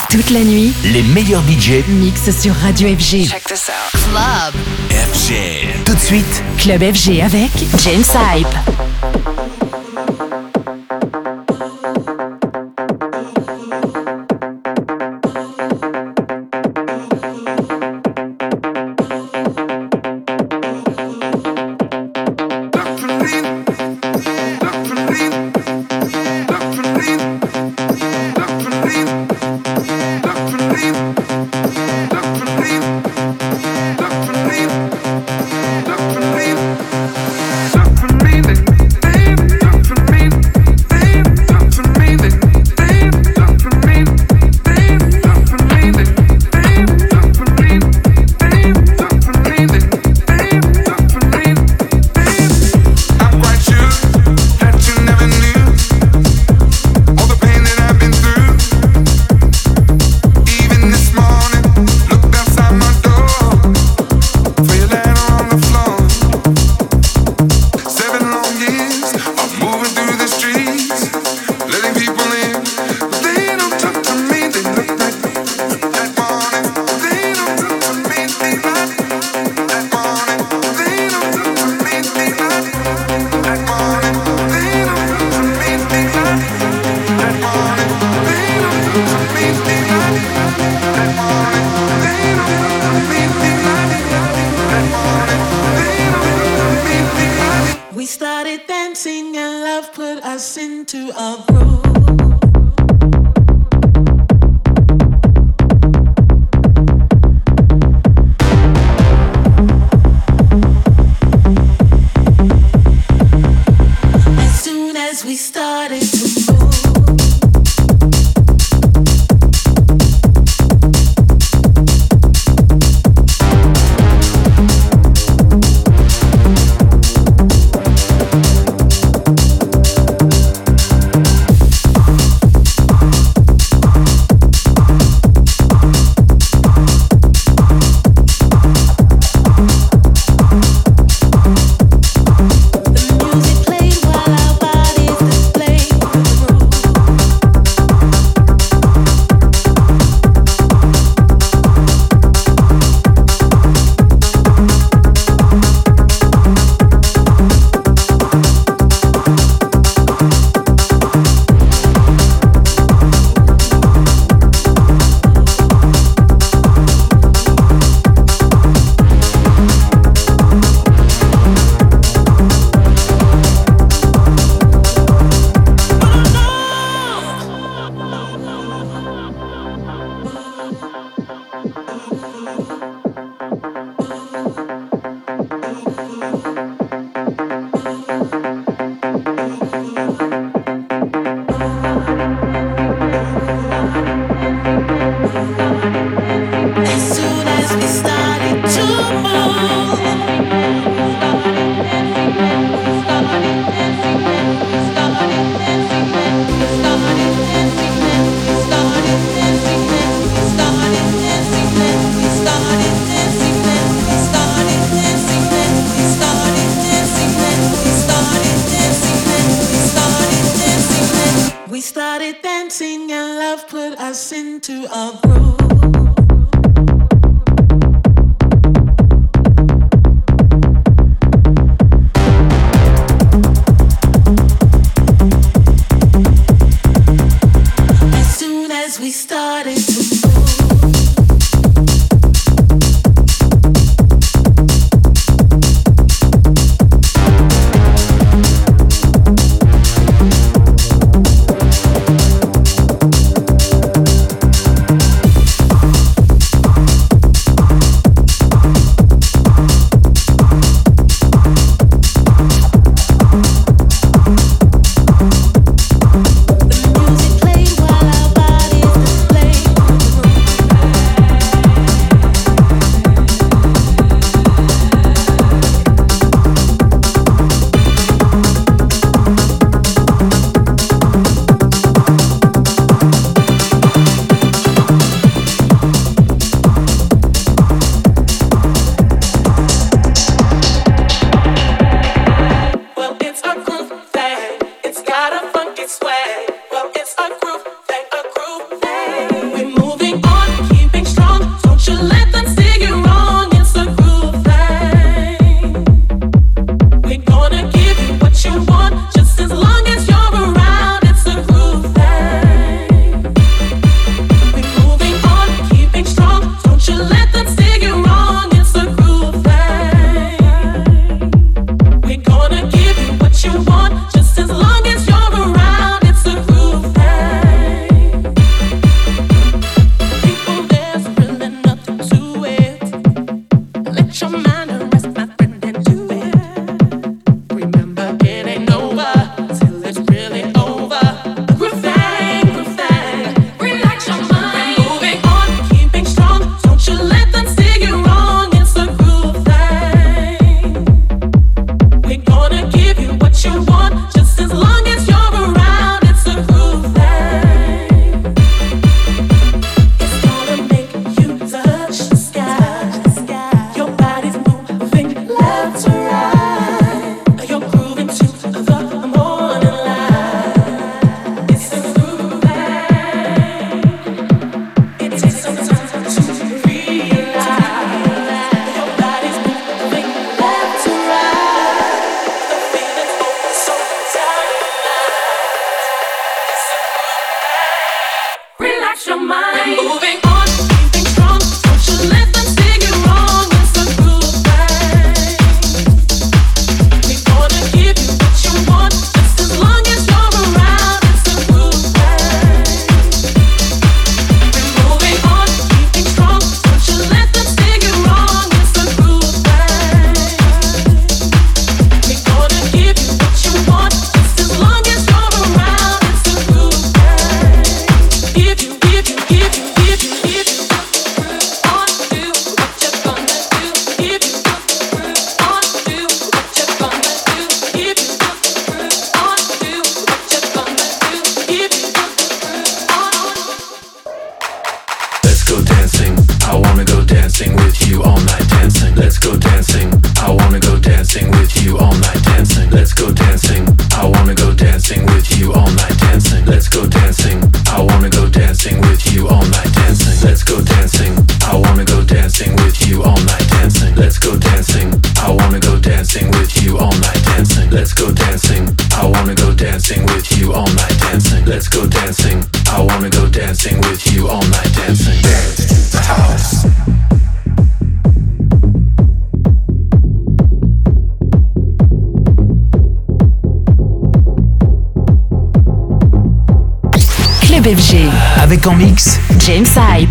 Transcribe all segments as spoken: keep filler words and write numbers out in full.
Toute la nuit, les meilleurs D J mixent sur Radio F G. Check this out. Club F G. Tout de suite, Club F G avec James Hype. Music played while our bodies display. F G. Avec en mix James Hype.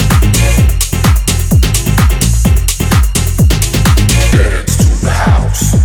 House.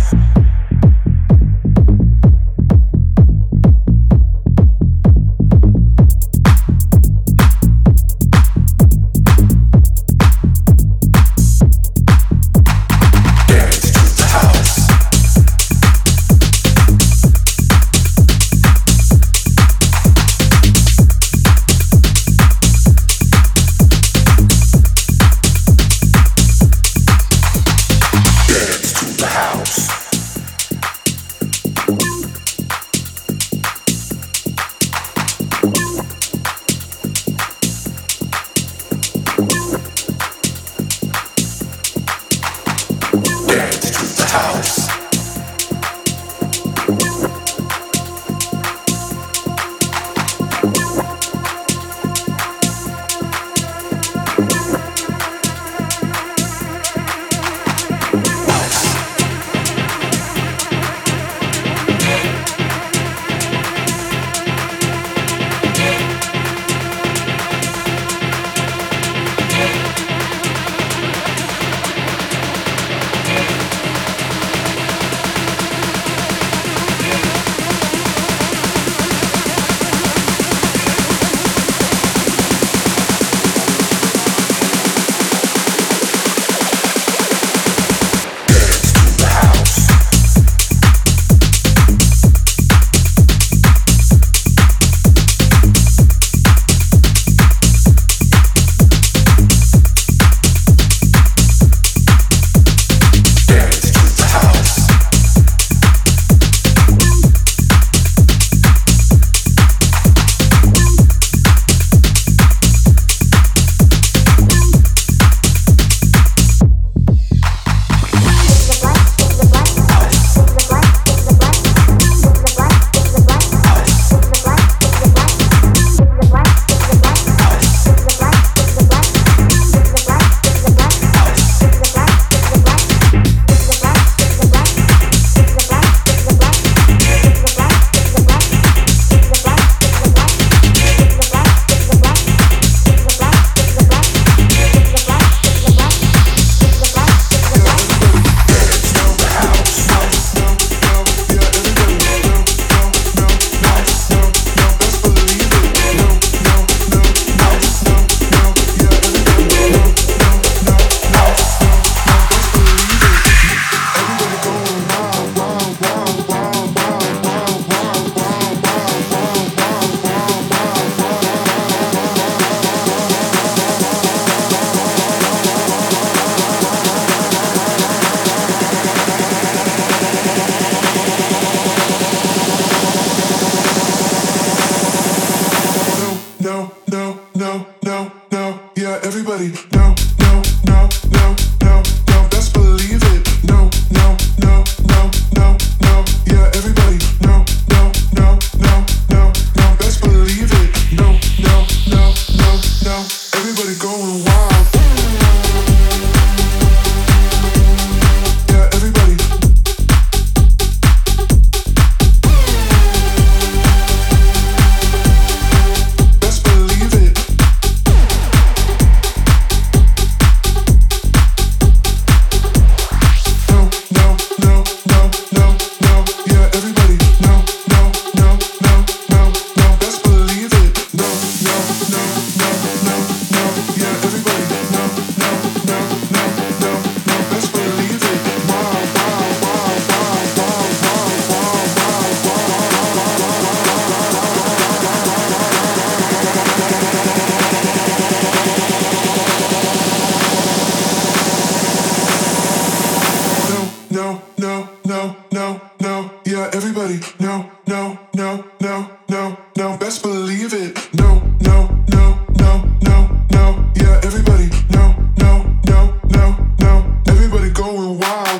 no, no, no, no, no. Yeah, everybody, no, no, no, no, no, no. Best believe it. No, no, no, no, no, no. Yeah, everybody, no, no, no, no, no. Everybody going wild.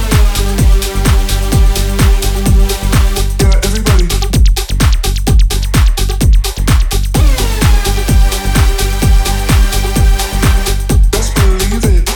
Yeah, everybody. Best believe it.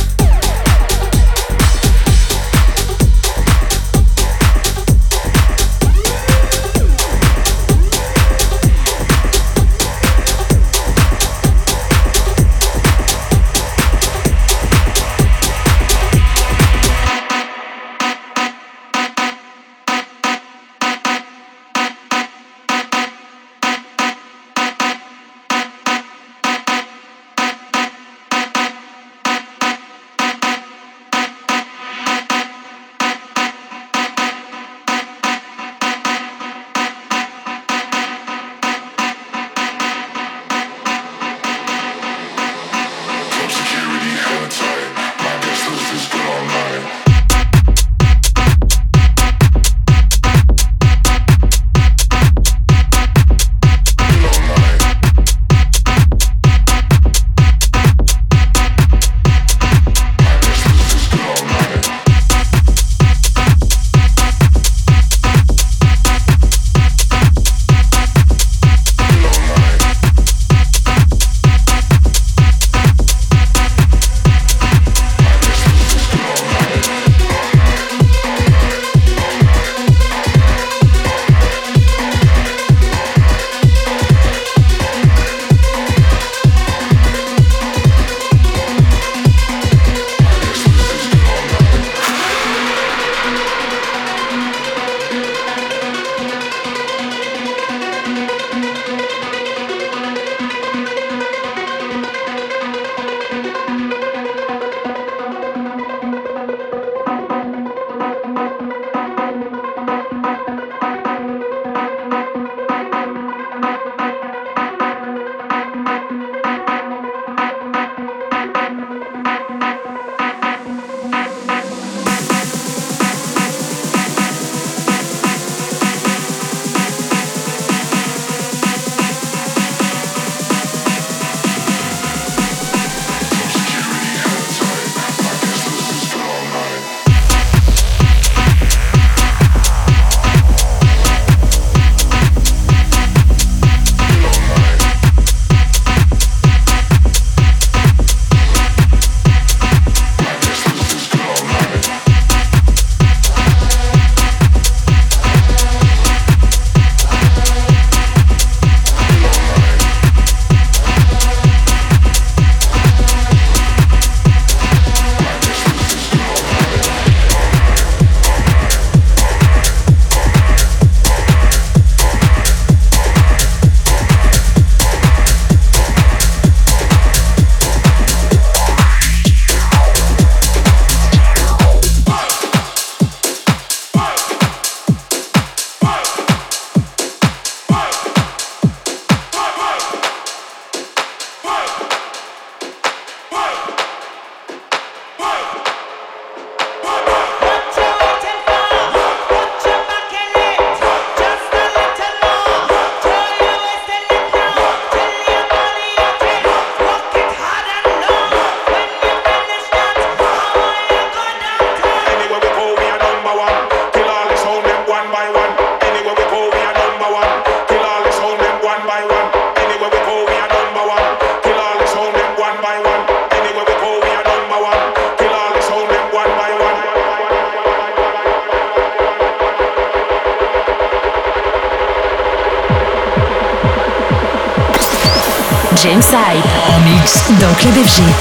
James Hype en mix dans Club F G.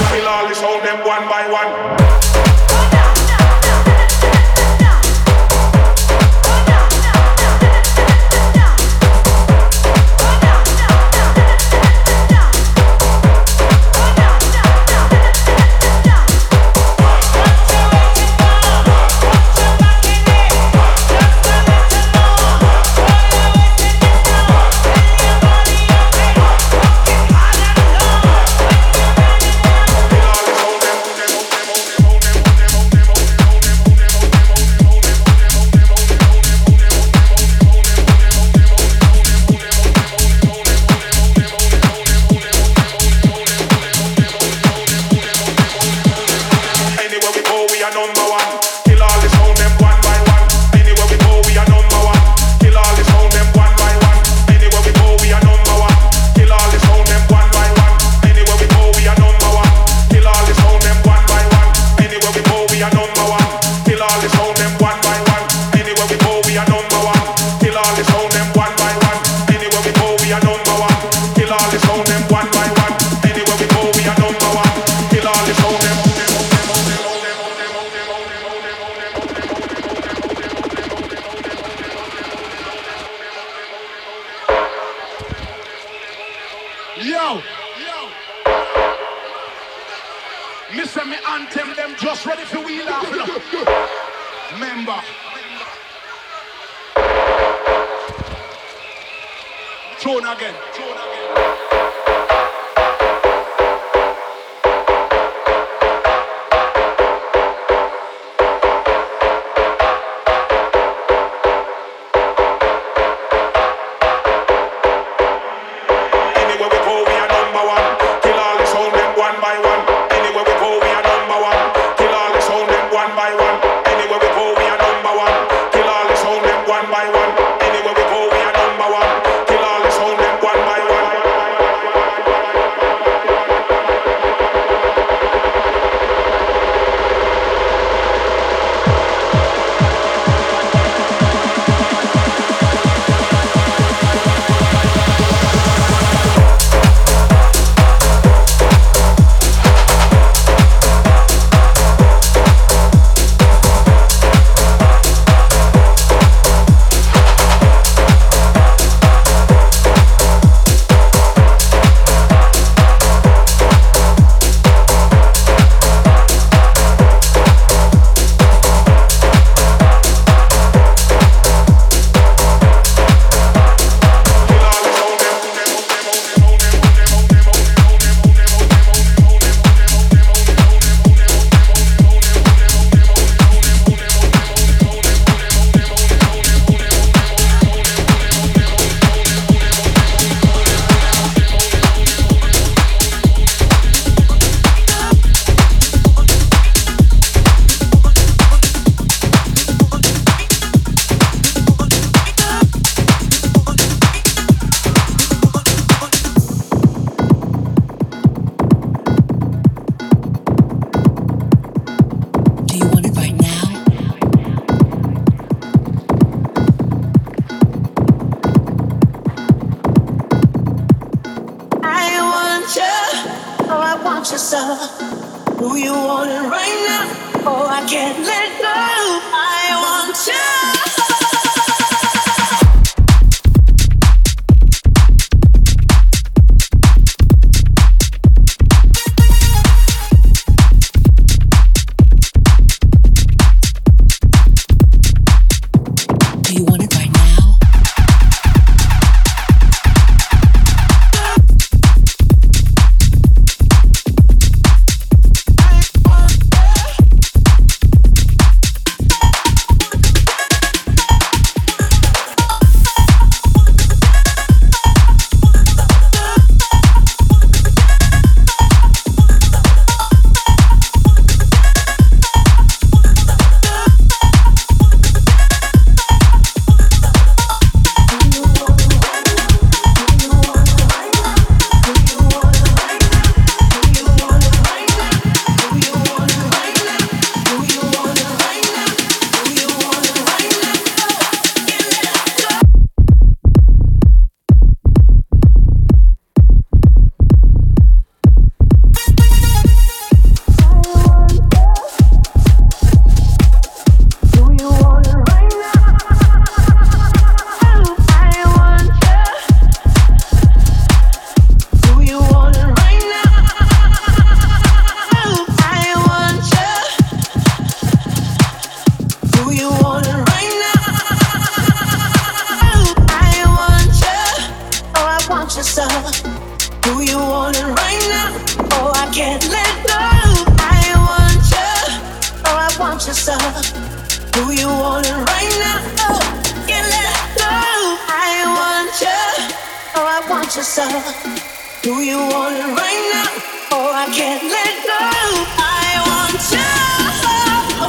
Them we are number one. Kill all the sound them one by one. Anywhere we go, we are number one. Kill all the sound them one by one. Anywhere we go, we are number one. Kill all the sound them one by one. Anywhere we go, we are number one. Kill all the sound them one by one. Anywhere we go, we are number one. Kill all the sound them one by one. Anywhere we go, we are number one. Kill all the sound them one by one. Anywhere we go, we are number one. Kill all the sound them one by one. Anywhere we go, we are number one. Kill all the sound them. Yo, yo. Listen, me anthem them just ready for wheel off. Member. Tune again. Tune again. Do you want it right now? Oh, I can't let go. I want you. Do you want it right now? Oh, I can't let go. I want you.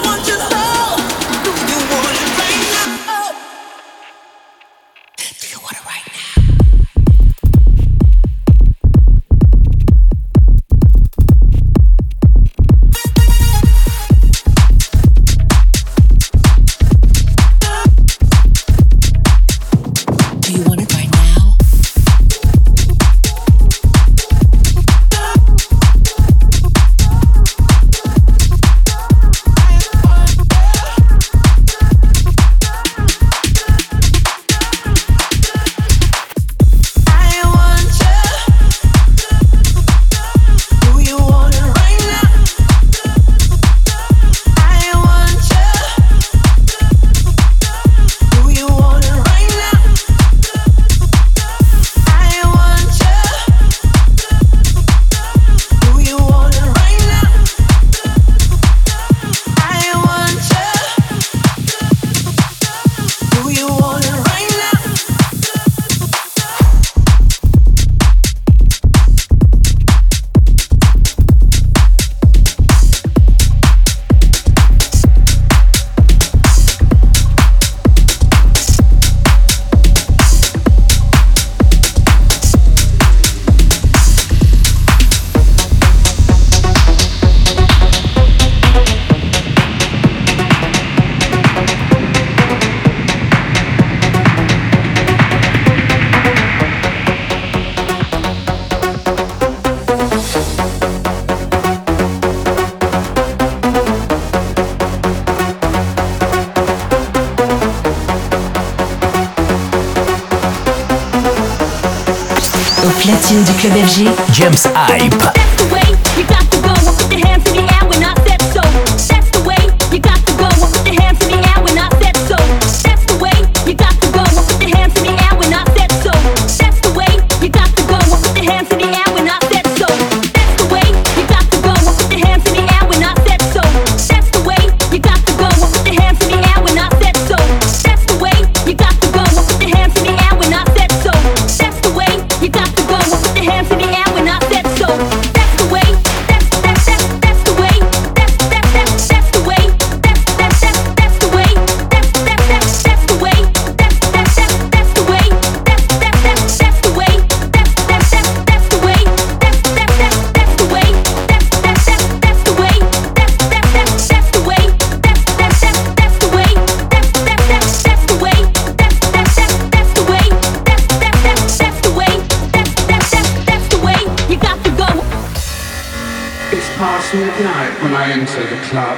platine du club F G, James Hype. That's the way you got to go. Put your hands in the air when I said so. That's the way you got to go. Put your hands in the air when I said so. That's the way you got to go. Put your hands in the air when I said so. That's the way you got to go. Put your hands in the air when I said so. That's the way you got to go. Put your hands in the air when I said so. That's the way you got to go. Put your hands in the air when I said so. That's the way you got to go. Put your hands in the air when I said so. That's the way you got to go. Put your hands in the air when I said so. That's the way. That's that's that's that's the way. That's that's that's that's the way. That's that's that's that's the way. That's that's that's that's the way. That's that's that's that's the way. That's that's that's that's the way. That's that's that's that's the way. That's that's that's that's the way. That's that's that's that's the way. That's that's that's that's the way. That's that's that's that's the way. That's that's that's that's the way. That's that's that's that's the way. That's that's that's that's the way. That's that's that's that's the way. You got to go. It's past midnight when I enter the club.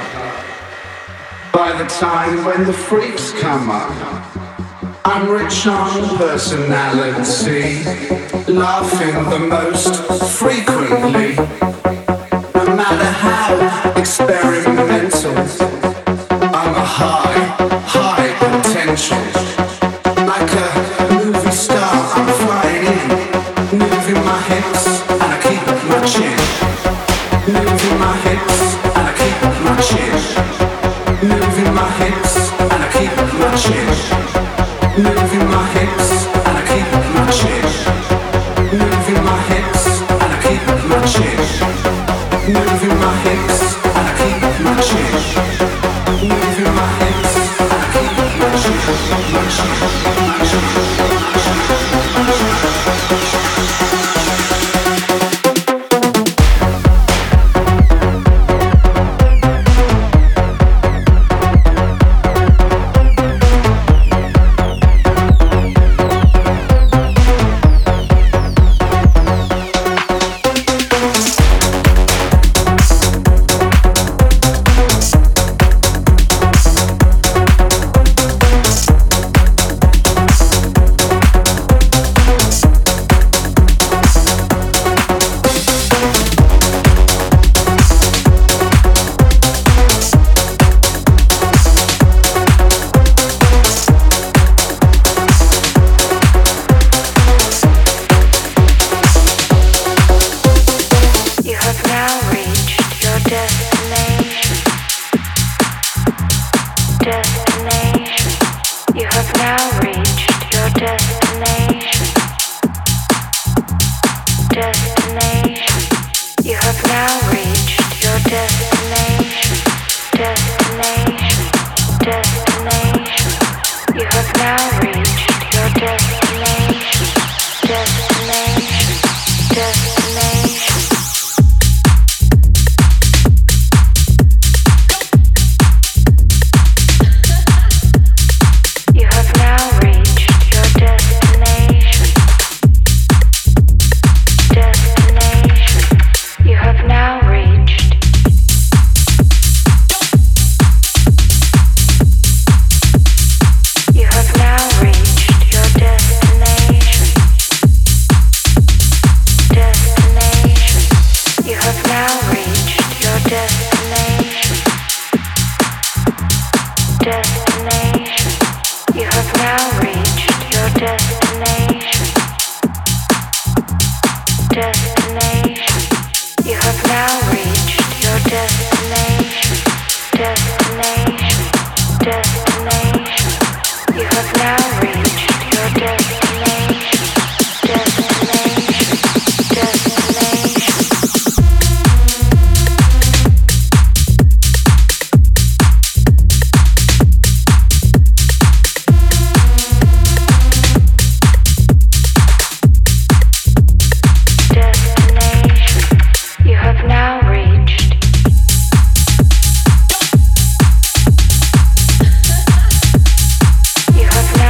By the time when the freaks come up, I'm rich on personality, laughing the most frequently. No matter how experimental, I'm a high, high potential. Like a movie star, I'm flying in, moving my hips and I keep my chin. Moving my hips and I keep my chin. Moving my hips and I keep my chin. Moving my hips and I keep my chin. Moving my hips and I keep my chin. Moving my hips and I keep my chin. Moving my hips and I keep my chin. My chin, my chin, my chin. You have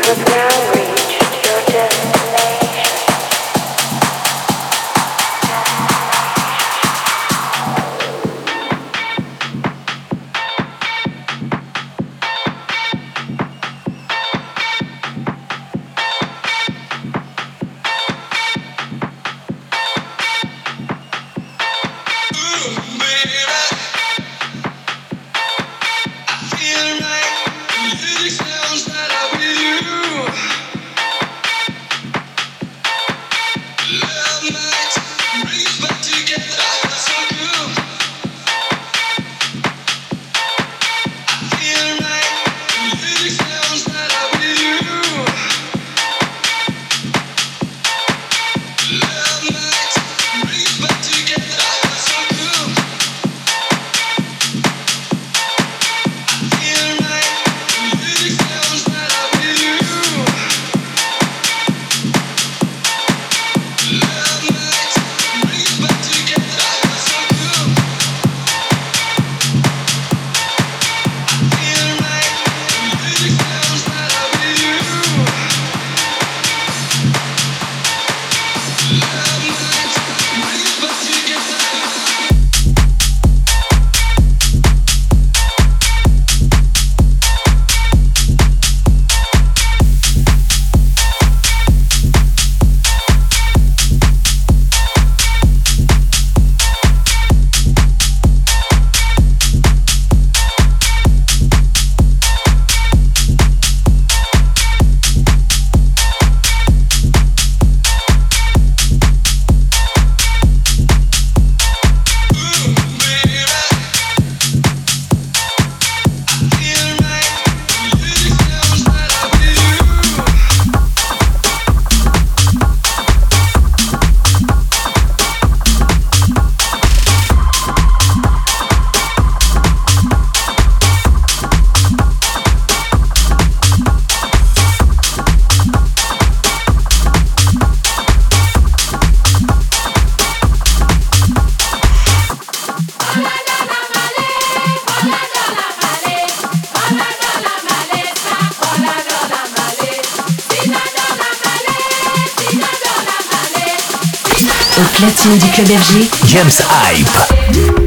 Au platine du Club F G, James Hype.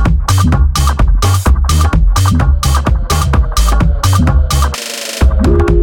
We'll be right back.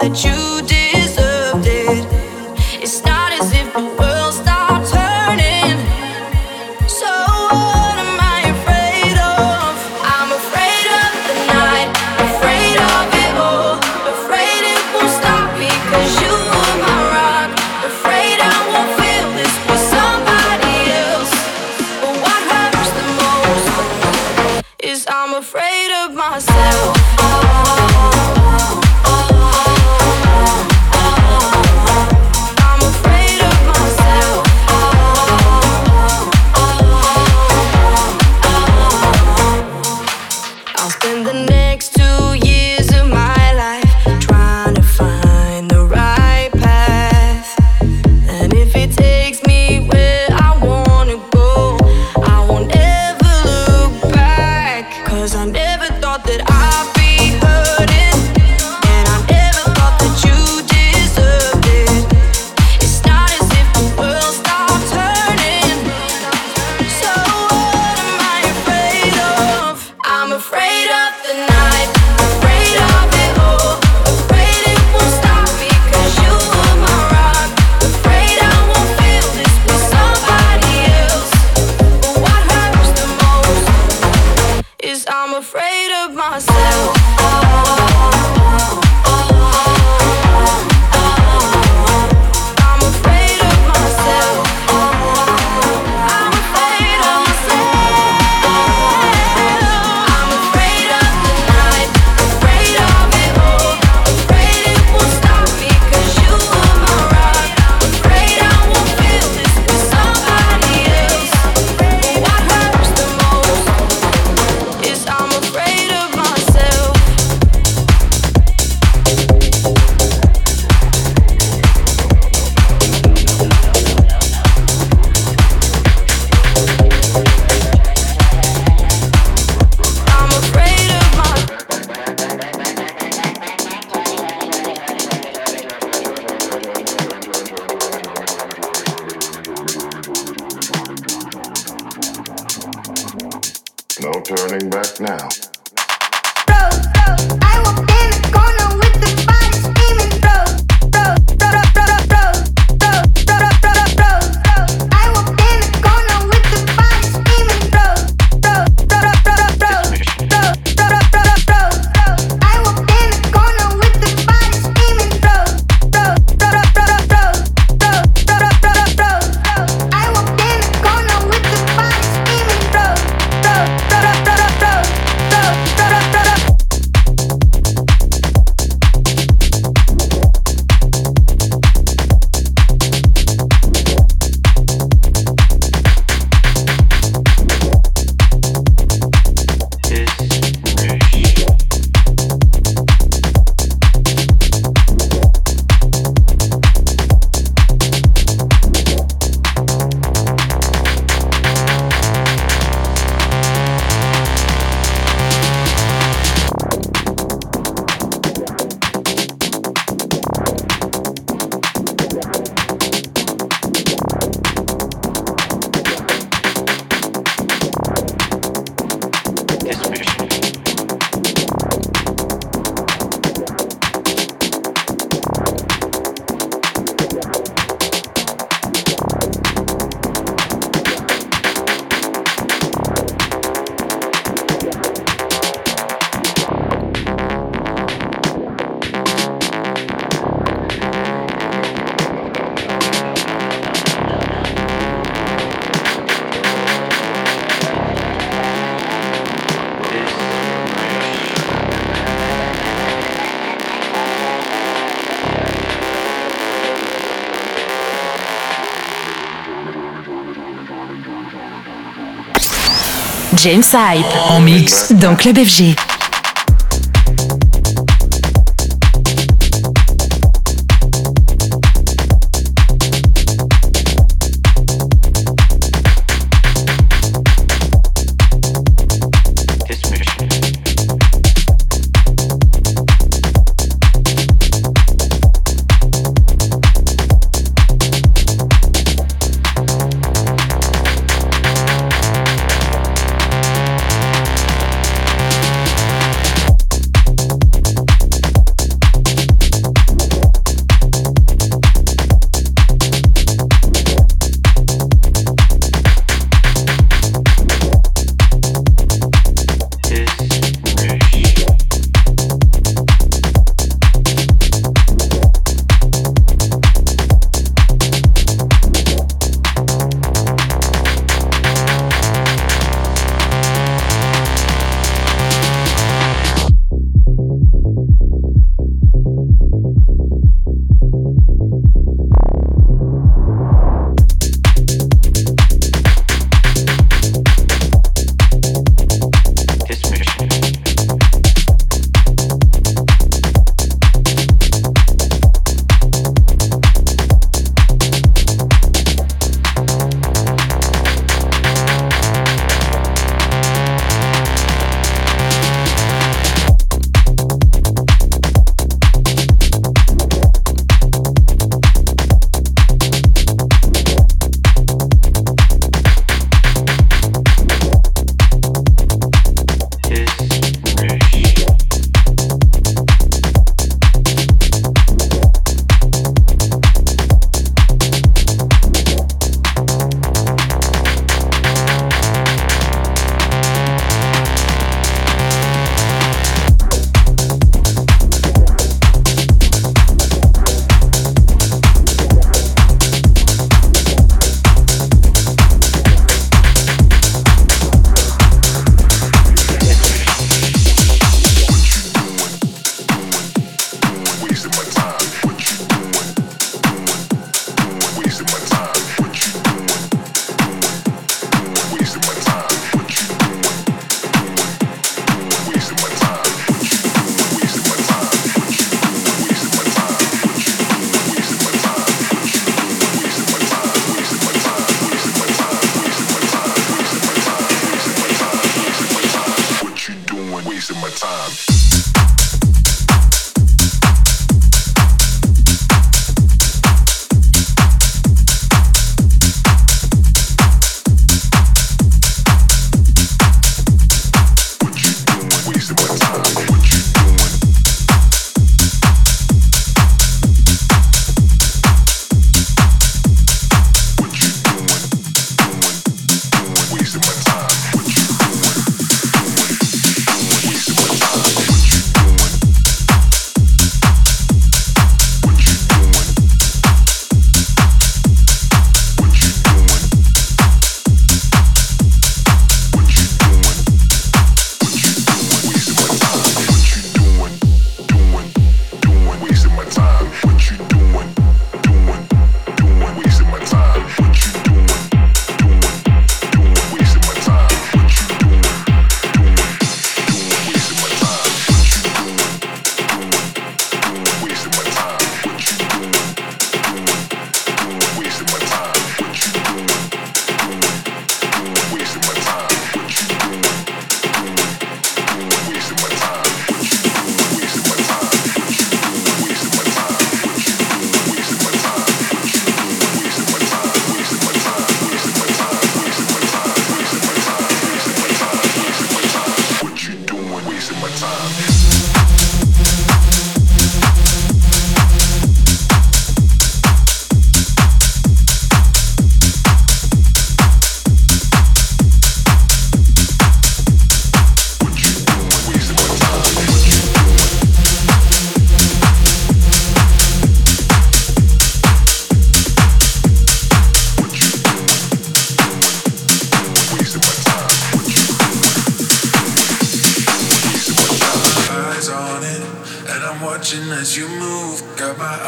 that you deserved it. It's not as if the world stopped turning. So what am I afraid of? I'm afraid of the night, afraid of it all, afraid it won't stop me 'cause you were my rock, afraid I won't feel this with somebody else. But what hurts the most is I'm afraid of myself. James Hype en mix dans Club F G.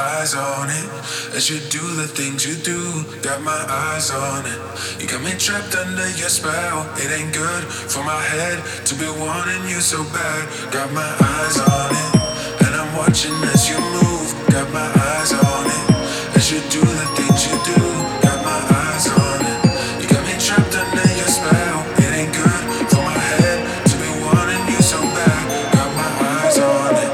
eyes on it. As you do the things you do, got my eyes on it. You got me trapped under your spell. It ain't good for my head to be wanting you so bad. Got my eyes on it, and I'm watching as you move. Got my eyes on it. As you do the things you do, got my eyes on it. You got me trapped under your spell. It ain't good for my head to be wanting you so bad. Got my eyes on it.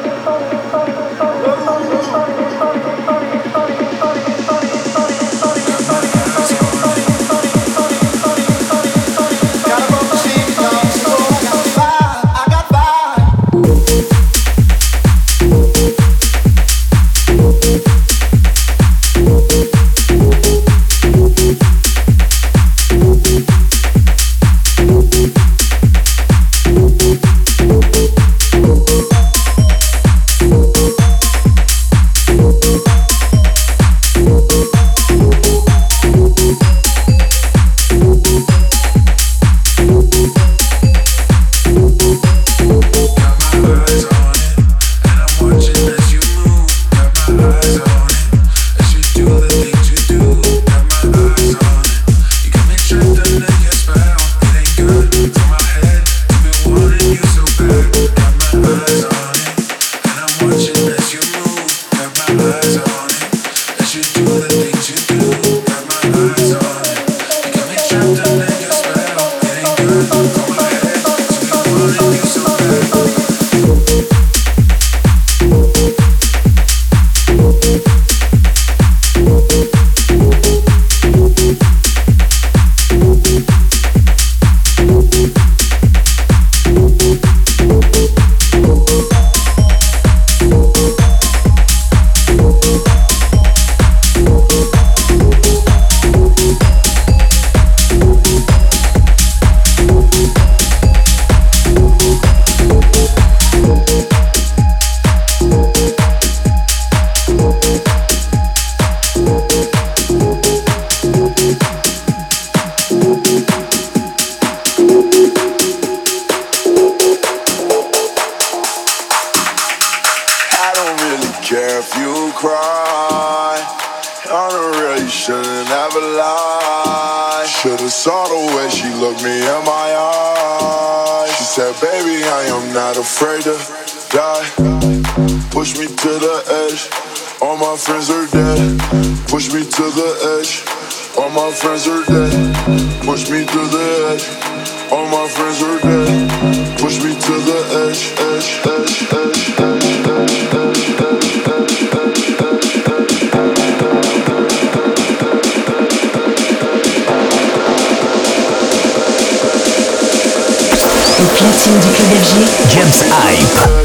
Afraid to die. Push me to the edge. All my friends are dead. Push me to the edge. All my friends are dead. Push me to the edge. All my friends are dead. Push me to the edge, edge, edge, edge, edge, edge, edge, edge, Au platine du club F G, James Hype.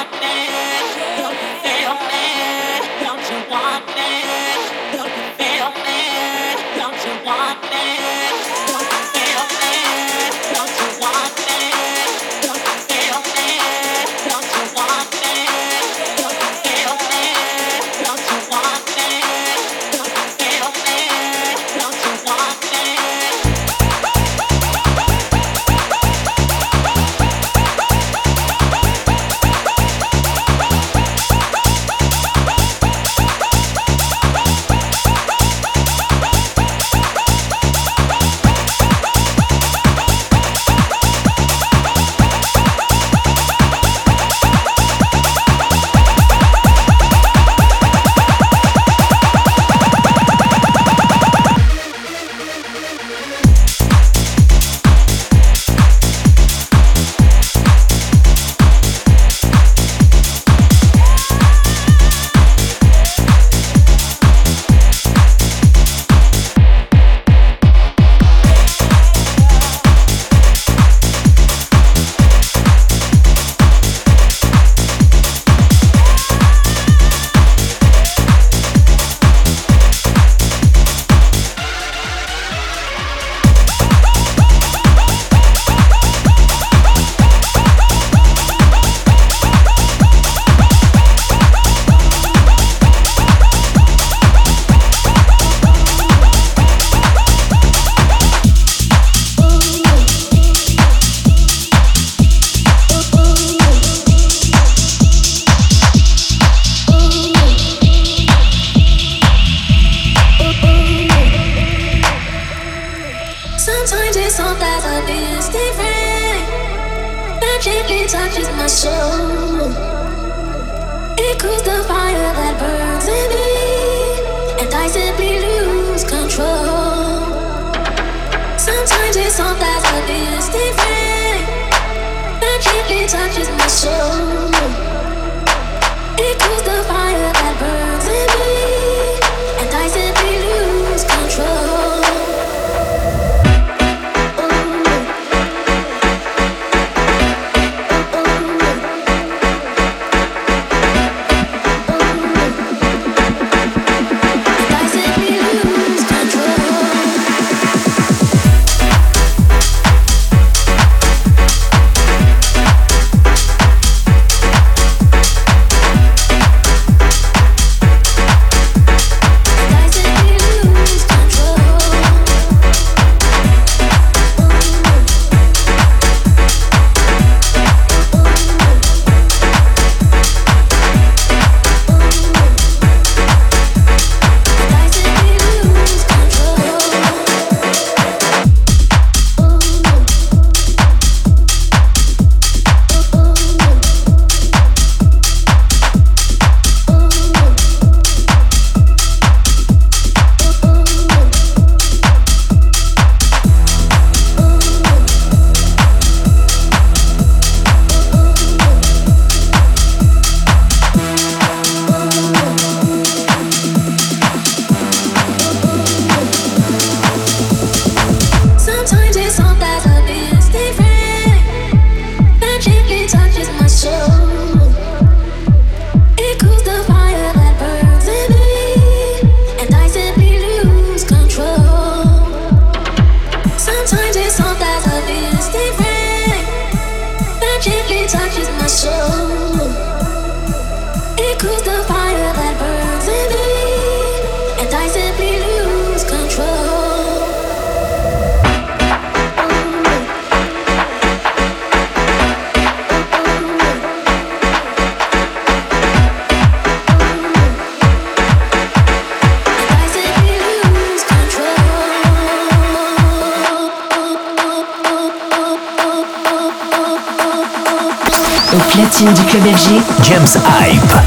Platine du Club F G, James Hype.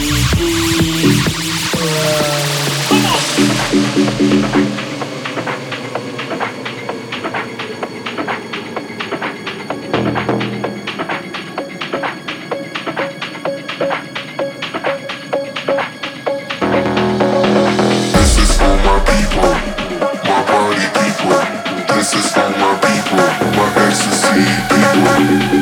This is for my people, my ecstasy people.